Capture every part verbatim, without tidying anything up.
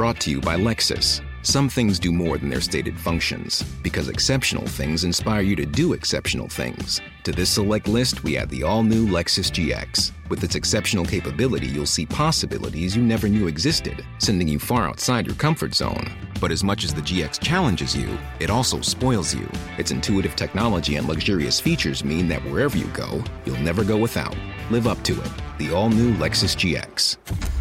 Brought to you by Lexus. Some things do more than their stated functions, because exceptional things inspire you to do exceptional things. To this select list, we add the all-new Lexus G X. With its exceptional capability, you'll see possibilities you never knew existed, sending you far outside your comfort zone. But as much as the G X challenges you, it also spoils you. Its intuitive technology and luxurious features mean that wherever you go, you'll never go without. Live up to it. The all-new Lexus G X.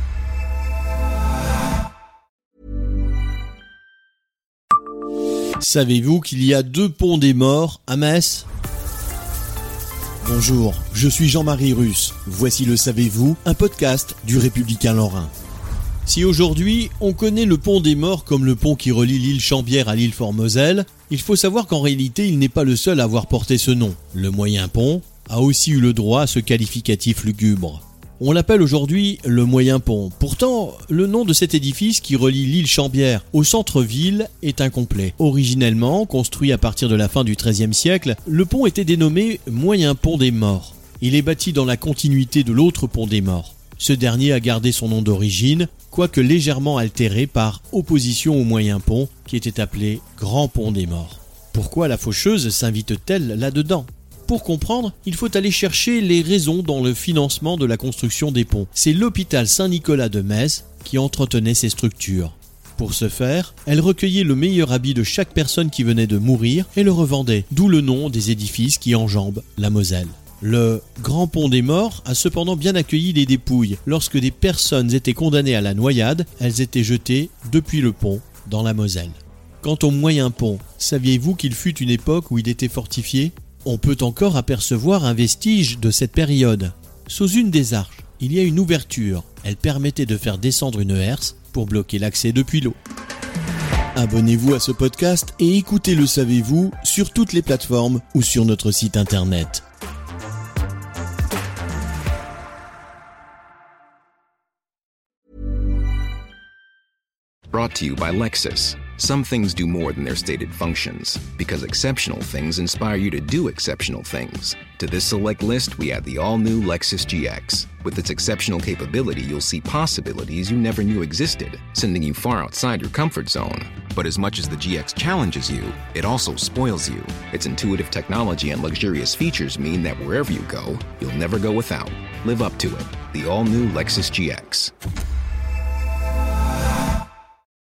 Savez-vous qu'il y a deux ponts des morts à Metz ? Bonjour, je suis Jean-Marie Russe. Voici le Savez-vous, un podcast du Républicain Lorrain. Si aujourd'hui, on connaît le pont des morts comme le pont qui relie l'île Chambière à l'île Fort-Moselle, il faut savoir qu'en réalité, il n'est pas le seul à avoir porté ce nom. Le moyen pont a aussi eu le droit à ce qualificatif lugubre. On l'appelle aujourd'hui le Moyen Pont. Pourtant, le nom de cet édifice qui relie l'île Chambière au centre-ville est incomplet. Originellement, construit à partir de la fin du treizième siècle, le pont était dénommé Moyen Pont des Morts. Il est bâti dans la continuité de l'autre pont des Morts. Ce dernier a gardé son nom d'origine, quoique légèrement altéré par opposition au Moyen Pont, qui était appelé Grand Pont des Morts. Pourquoi la faucheuse s'invite-t-elle là-dedans ? Pour comprendre, il faut aller chercher les raisons dans le financement de la construction des ponts. C'est l'hôpital Saint-Nicolas de Metz qui entretenait ces structures. Pour ce faire, elle recueillait le meilleur habit de chaque personne qui venait de mourir et le revendait, d'où le nom des édifices qui enjambent la Moselle. Le Grand Pont des Morts a cependant bien accueilli les dépouilles. Lorsque des personnes étaient condamnées à la noyade, elles étaient jetées depuis le pont dans la Moselle. Quant au Moyen Pont, saviez-vous qu'il fut une époque où il était fortifié ? On peut encore apercevoir un vestige de cette période. Sous une des arches, il y a une ouverture. Elle permettait de faire descendre une herse pour bloquer l'accès depuis l'eau. Abonnez-vous à ce podcast et écoutez Le Savez-vous sur toutes les plateformes ou sur notre site internet. Brought to you by Lexus. Some things do more than their stated functions, because exceptional things inspire you to do exceptional things. To this select list, we add the all-new Lexus G X. With its exceptional capability, you'll see possibilities you never knew existed, sending you far outside your comfort zone. But as much as the G X challenges you, it also spoils you. Its intuitive technology and luxurious features mean that wherever you go, you'll never go without. Live up to it. The all-new Lexus G X.